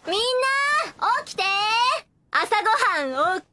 みんな起きて。朝ごはんおっ